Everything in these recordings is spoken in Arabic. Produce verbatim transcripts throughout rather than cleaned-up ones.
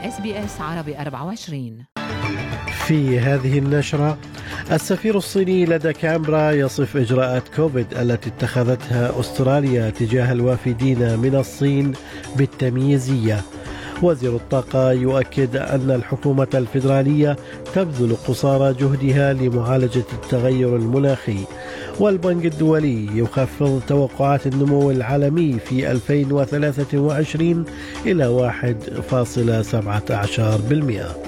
إس بي إس عربي أربعة وعشرين. في هذه النشرة، السفير الصيني لدى كامبرا يصف إجراءات كوفيد التي اتخذتها أستراليا تجاه الوافدين من الصين بالتمييزية. وزير الطاقة يؤكد أن الحكومة الفيدرالية تبذل قصارى جهدها لمعالجة التغير المناخي. والبنك الدولي يخفض توقعات النمو العالمي في ألفين وثلاثة وعشرين إلى واحد فاصلة سبعة عشر بالمئة.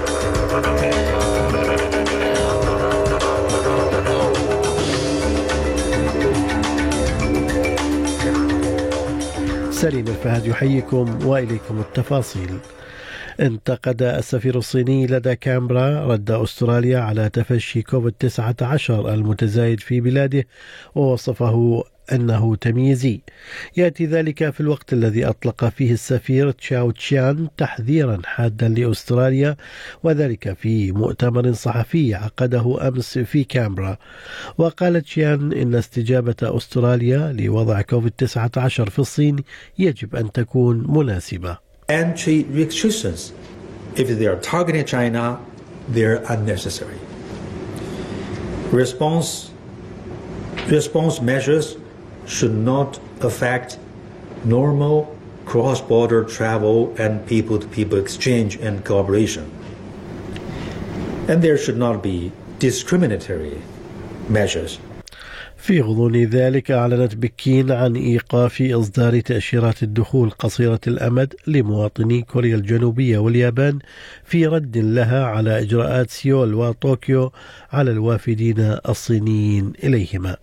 سليم الفهد يحييكم وإليكم التفاصيل. انتقد السفير الصيني لدى كامبرا رد أستراليا على تفشي كوفيد تسعة عشر المتزايد في بلاده، ووصفه أنه تمييزي. يأتي ذلك في الوقت الذي أطلق فيه السفير تشاو تشيان تحذيرا حادا لأستراليا، وذلك في مؤتمر صحفي عقده أمس في كامبرا. وقال تشيان إن استجابة أستراليا لوضع كوفيد تسعة عشر في الصين يجب أن تكون مناسبة. Entry restrictions, if they are targeting China, they're unnecessary. Response, response measures should not affect normal cross-border travel and people-to-people exchange and cooperation. And there should not be discriminatory measures. في غضون ذلك، أعلنت بكين عن إيقاف إصدار تأشيرات الدخول قصيرة الأمد لمواطني كوريا الجنوبية واليابان في رد لها على إجراءات سيول وطوكيو على الوافدين الصينيين إليهما.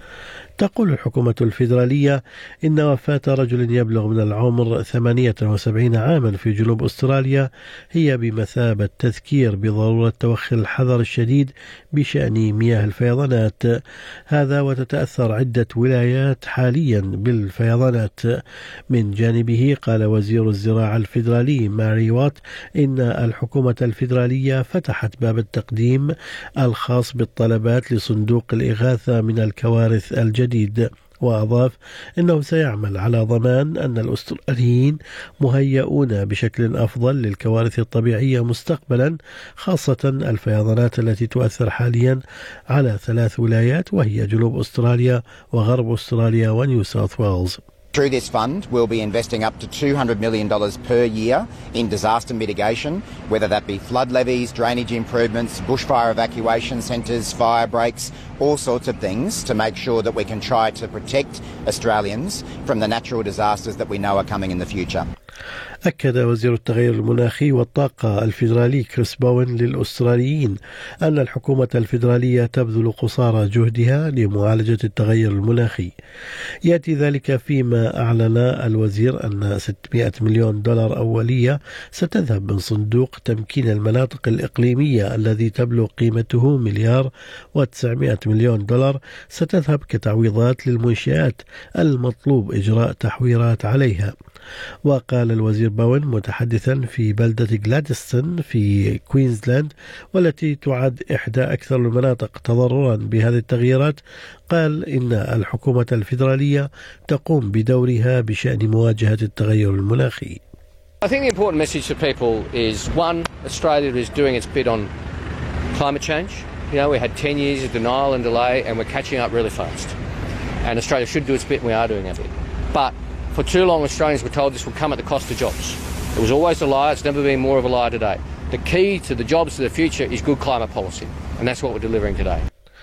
تقول الحكومة الفيدرالية إن وفاة رجل يبلغ من العمر ثمانية وسبعين عاما في جنوب أستراليا هي بمثابة تذكير بضرورة توخي الحذر الشديد بشأن مياه الفيضانات. هذا وتتأثر عدة ولايات حاليا بالفيضانات. من جانبه، قال وزير الزراعة الفيدرالي ماري وات إن الحكومة الفيدرالية فتحت باب التقديم الخاص بالطلبات لصندوق الإغاثة من الكوارث الجديدة جديد. وأضاف إنه سيعمل على ضمان أن الأستراليين مهيئون بشكل أفضل للكوارث الطبيعية مستقبلا، خاصة الفيضانات التي تؤثر حاليا على ثلاث ولايات وهي جنوب أستراليا وغرب أستراليا ونيو ساوث ويلز. Through this fund, we'll be investing up to two hundred million dollars per year in disaster mitigation, whether that be flood levees, drainage improvements, bushfire evacuation centres, fire breaks, all sorts of things to make sure that we can try to protect Australians from the natural disasters that we know are coming in the future. أكد وزير التغير المناخي والطاقة الفيدرالي كريس بوين للأستراليين أن الحكومة الفيدرالية تبذل قصارى جهدها لمعالجة التغير المناخي. يأتي ذلك فيما أعلن الوزير أن ستمائة مليون دولار أولية ستذهب من صندوق تمكين المناطق الإقليمية الذي تبلغ قيمته مليار وتسعمائة مليون دولار ستذهب كتعويضات للمنشآت المطلوب إجراء تحويرات عليها. وقال الوزير باون متحدثا في بلدة غلادستون في كوينزلاند والتي تعد إحدى أكثر المناطق تضررا بهذه التغييرات، قال إن الحكومة الفيدرالية تقوم بدورها بشأن مواجهة التغير المناخي. I think the important message to people is, one, Australia is doing its bit on climate change. You know, we had ten years of denial and delay and we're catching up really fast. And Australia should do its bit and we are doing our bit. But for too long, Australians were told this would come at the cost of jobs. It was always a lie. It's never been more of a lie today. The key to the jobs of the future is good climate policy, and that's what we're delivering today.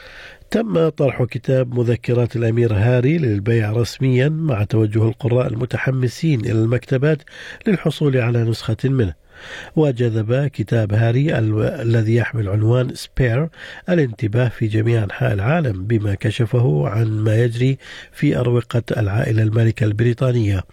تم طرح كتاب مذكرات الأمير هاري للبيع رسميا مع توجه القراء المتحمسين إلى المكتبات للحصول على نسخة منه. وجذب كتاب هاري الذي يحمل عنوان سبير الانتباه في جميع أنحاء العالم بما كشفه عن ما يجري في أروقة العائلة المالكة البريطانية.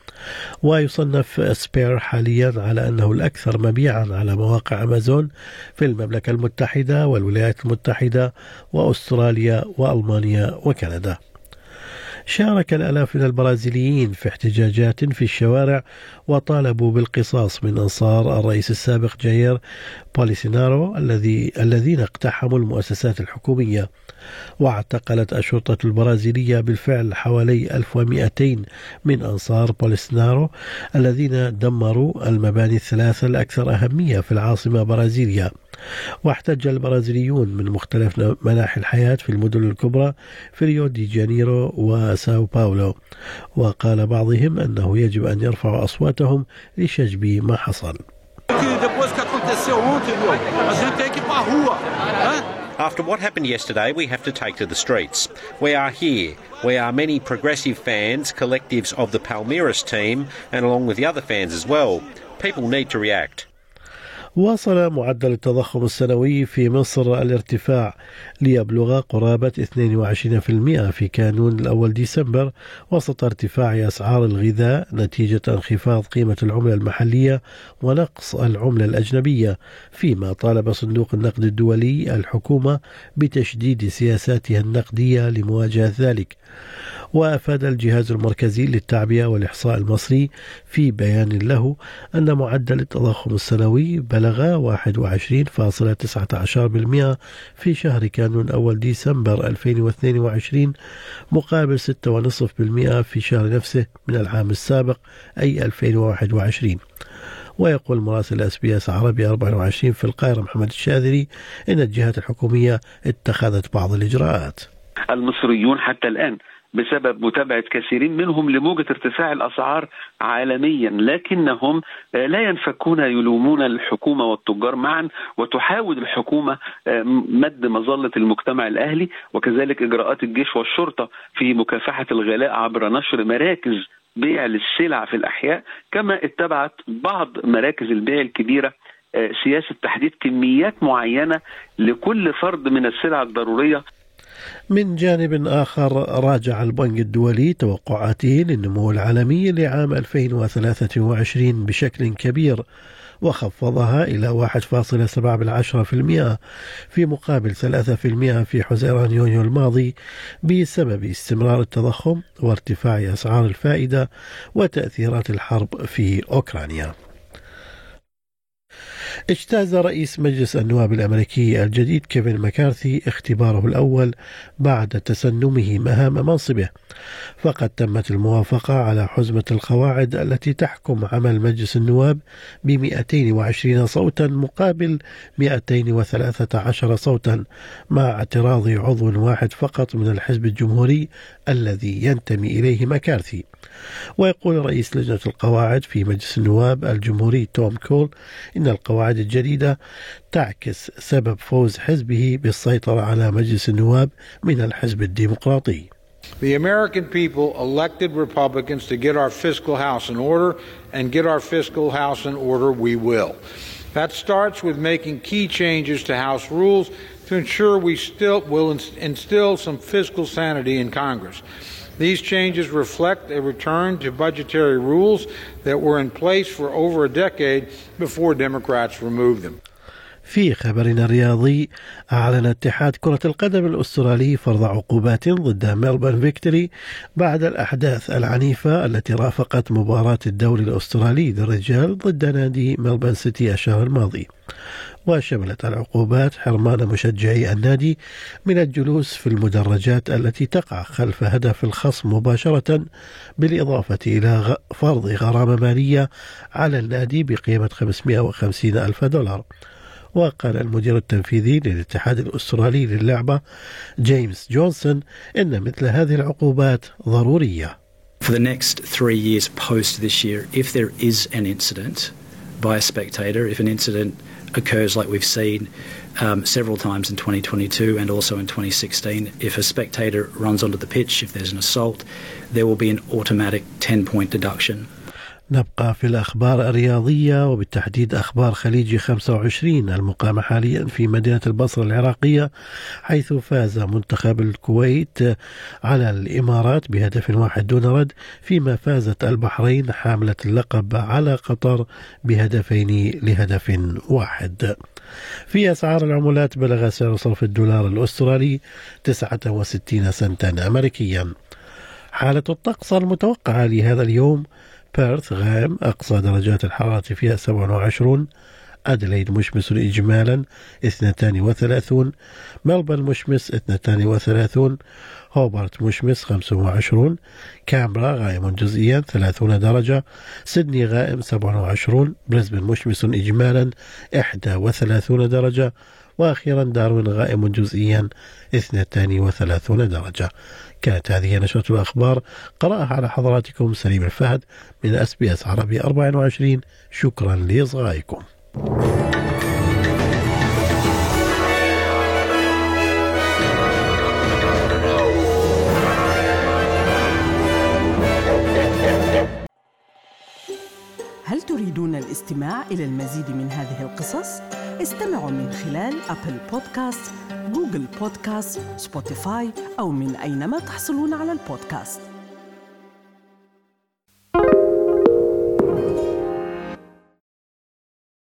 ويصنف سبير حاليا على أنه الأكثر مبيعا على مواقع أمازون في المملكة المتحدة والولايات المتحدة وأستراليا وألمانيا وكندا. شارك الآلاف من البرازيليين في احتجاجات في الشوارع وطالبوا بالقصاص من أنصار الرئيس السابق جاير بولسونارو الذي الذين اقتحموا المؤسسات الحكومية. واعتقلت الشرطة البرازيلية بالفعل حوالي ألف ومئتين من أنصار بولسونارو الذين دمروا المباني الثلاثة الأكثر أهمية في العاصمة برازيليا. واحتج البرازيليون من مختلف مناحي الحياة في المدن الكبرى في ريو دي جانيرو وساو باولو، وقال بعضهم أنه يجب أن يرفعوا أصواتهم لشجب ما حصل. After what happened yesterday, we have to take to the streets. We are here. We are many progressive fans, collectives of the Palmeiras team, and along with the other fans as well. People need to react. واصل معدل التضخم السنوي في مصر الارتفاع ليبلغ قرابة اثنين وعشرين بالمئة في كانون الأول ديسمبر وسط ارتفاع أسعار الغذاء نتيجة انخفاض قيمة العملة المحلية ونقص العملة الأجنبية، فيما طالب صندوق النقد الدولي الحكومة بتشديد سياساتها النقدية لمواجهة ذلك. وأفاد الجهاز المركزي للتعبئة والإحصاء المصري في بيان له أن معدل التضخم السنوي بلغ واحد وعشرين فاصلة تسعة عشر بالمئة في شهر كانون أول ديسمبر ألفين واثنين وعشرين مقابل ستة فاصلة خمسة بالمئة في شهر نفسه من العام السابق أي ألفين وواحد وعشرين. ويقول مراسل اس بي اس عربي أربعة وعشرين في القاهرة محمد الشاذلي إن الجهات الحكومية اتخذت بعض الإجراءات. المصريون حتى الآن بسبب متابعة كثيرين منهم لموجة ارتفاع الأسعار عالميا، لكنهم لا ينفكون يلومون الحكومة والتجار معا، وتحاول الحكومة مد مظلة المجتمع الأهلي وكذلك إجراءات الجيش والشرطة في مكافحة الغلاء عبر نشر مراكز بيع للسلع في الأحياء، كما اتبعت بعض مراكز البيع الكبيرة سياسة تحديد كميات معينة لكل فرد من السلع الضرورية. من جانب آخر راجع البنك الدولي توقعاته للنمو العالمي لعام ألفين وثلاثة وعشرين بشكل كبير وخفضها إلى واحد فاصلة سبعة بالمئة في مقابل ثلاثة بالمئة في حزيران يونيو الماضي بسبب استمرار التضخم وارتفاع أسعار الفائدة وتأثيرات الحرب في أوكرانيا. اجتاز رئيس مجلس النواب الأمريكي الجديد كيفن مكارثي اختباره الأول بعد تسنمه مهام منصبه، فقد تمت الموافقة على حزمة القواعد التي تحكم عمل مجلس النواب ب مئتين وعشرين صوتا مقابل مئتين وثلاثة عشر صوتا، مع اعتراض عضو واحد فقط من الحزب الجمهوري الذي ينتمي إليه مكارثي. ويقول رئيس لجنة القواعد في مجلس النواب الجمهوري توم كول إن القواعد الجديدة تعكس سبب فوز حزبه بالسيطرة على مجلس النواب من الحزب الديمقراطي. The American people elected Republicans to get our fiscal house in order, and get our fiscal house in order we will. That starts with making key changes to House rules to ensure we still will instill some fiscal sanity in Congress. These changes reflect a return to budgetary rules that were in place for over a decade before Democrats removed them. في خبرنا الرياضي، أعلن اتحاد كرة القدم الأسترالي فرض عقوبات ضد ميلبورن فيكتوري بعد الأحداث العنيفة التي رافقت مباراة الدوري الأسترالي للرجال ضد نادي ميلبورن سيتي الشهر الماضي. وشملت العقوبات حرمان مشجعي النادي من الجلوس في المدرجات التي تقع خلف هدف الخصم مباشرة، بالإضافة إلى فرض غرامة مالية على النادي بقيمة خمسمئة وخمسين ألف دولار. وقال المدير التنفيذي للاتحاد الأسترالي للعبة جيمس جونسون إن مثل هذه العقوبات ضرورية. For the next three years post this year, if there is an incident by a spectator, if an incident occurs like we've seen um, several times in twenty twenty-two and also in twenty sixteen, if a spectator runs onto the pitch, if there's an assault, there will be an automatic ten point deduction. نبقى في الأخبار الرياضية وبالتحديد أخبار خليجي خمسة وعشرين المقامة حاليا في مدينة البصرة العراقية، حيث فاز منتخب الكويت على الإمارات بهدف واحد دون رد، فيما فازت البحرين حاملة اللقب على قطر بهدفين لهدف واحد. في أسعار العملات بلغ سعر صرف الدولار الأسترالي تسعة وستين سنتا أمريكيا. حالة الطقس المتوقعة لهذا اليوم: بيرث غائم، أقصى درجات الحرارة فيها سبعة وعشرون. أدليد مشمس إجمالا اثنتان وثلاثون. ملبورن مشمس اثنتان وثلاثون. هوبارت مشمس خمسة وعشرون. كامبرا غائم جزئيا ثلاثون درجة. سيدني غائم سبعة وعشرون. بريسبن مشمس إجمالا إحدى وثلاثون درجة. وأخيرا داروين غائم جزئيا اثنتان وثلاثون درجة. كانت هذه نشرة الأخبار، قرأها على حضراتكم سليم الفهد من أس بي أس عربي أربعة وعشرين. شكرا لإصغائكم. هل تريدون الاستماع إلى المزيد من هذه القصص؟ استمعوا من خلال أبل بودكاست، جوجل بودكاست، سبوتيفاي أو من أينما تحصلون على البودكاست.